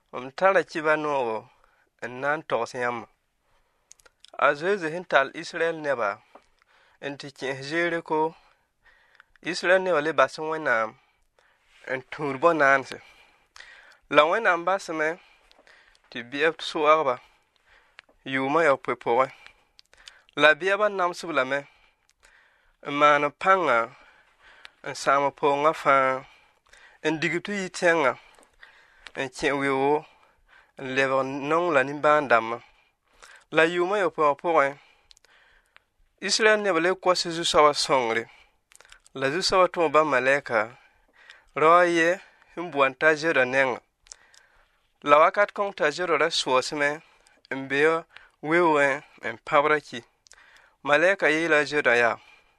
Tara kiba noogo n na n togs yãmb. A zoeze sẽn tall Israɛl neba n tɩ kẽes Zeeriko, Israɛl neba le bas Wẽnnaam n tũud bõn-naanse. La Wẽnnaam basme tɩ bɩa soagba yʋʋmã yaopoe pʋgẽ. La bɩaba namsb lame n maan pãnga n sãam pʋʋngã fãa n digb tɩ yi tẽngã n kẽ weoogo n lebg nong la nimbãan-dãmbã. La yʋʋmã yaopoe wã pʋgẽ, Israɛl neba le kos Zu-soabã sõngre. La Zu-soabã tʋʋ bãmb malɛka rao a yɛ sẽn boɔn t'a zoda nengã. La wakat kõng t'a zoda ra soasmẽ n be weoogẽ n pãbra ki. Malɛka yeela a zoda yaa: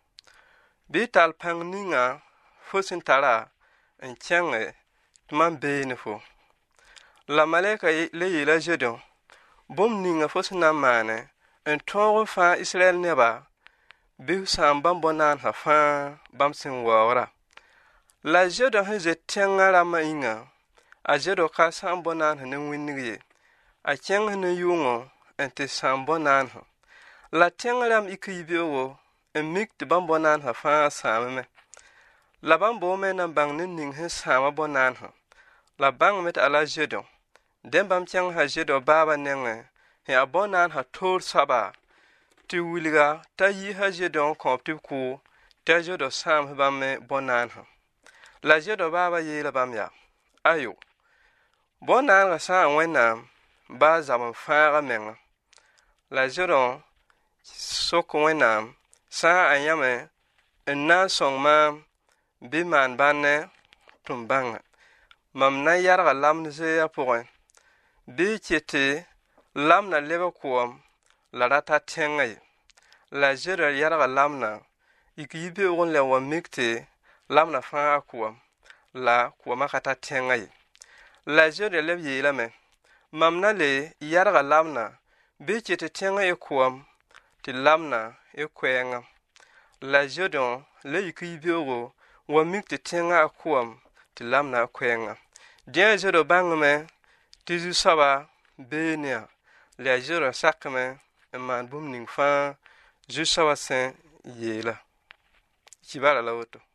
bɩ y tall pãng ninga fo sẽn tara n kẽnge tɩ mam beene fo. La malɛka le yeela a zodã: bũmb ninga fo sẽn na n maane n tõog n fãa Israɛl neba bɩ f sãam bãmb bõn-naansã fãa bãmb sẽn waoogra. La zodã sẽn zet tẽngã rãmbã yĩnga, a zodã ka sãam bõn-naansã ne wĩndg ye. A kẽngs ne yʋngã n tɩ sãam bõn-naansã. La tẽng rãmb ik yibeoogo n mik tɩ bãmb bõn-naansã fãa sãameme. La bãmb boome n na n bãng ned ning sẽn sãama bõn-naansã. La bãngame tɩ a la zodã. Dẽn bãmb kẽngsa zodã baabã nengẽ sẽn yaa bõn-naansã toor soaba tɩ wilga t'a yiisa zodã n kõ-b tɩ b kʋʋ t'a zodã sãams bãmb me bõn-naansã. La zodã baabã yeela bãmb yaa: ayo, bõn-naangã sã n Wẽnnaam baa zab n fãaga menga. La zodã sok Wẽnnaam: sã a yãme n na n sõng maam bɩ maan bãnne tɩ m bãnga. Mam na n yarga lamd zeeyã pʋgẽ, bɩ y kɩtɩ lamdã leb kʋɔm la ra ta tẽngã ye. La zodã yarga lamdã yik yibeoog n leb wa mik tɩ lamdã fãa kʋɔm la kʋɔmã ka ta tẽngã ye. La zodã leb yeelame: mam na le yarga lamdã bɩ y kɩtɩ tẽngã ye kʋɔm tɩ lamdã ye koɛɛngã. La zodã le yik yibeoogo wa mik tɩ tẽngã a kʋɔm tɩ lamdã a koɛɛngã. Dẽ a zodã bãngame tɩ Zu-soabã beene yã, la a zodã sakame n maan bũmb ning fãa Zu-soabã sẽn yeela. Kibara la woto.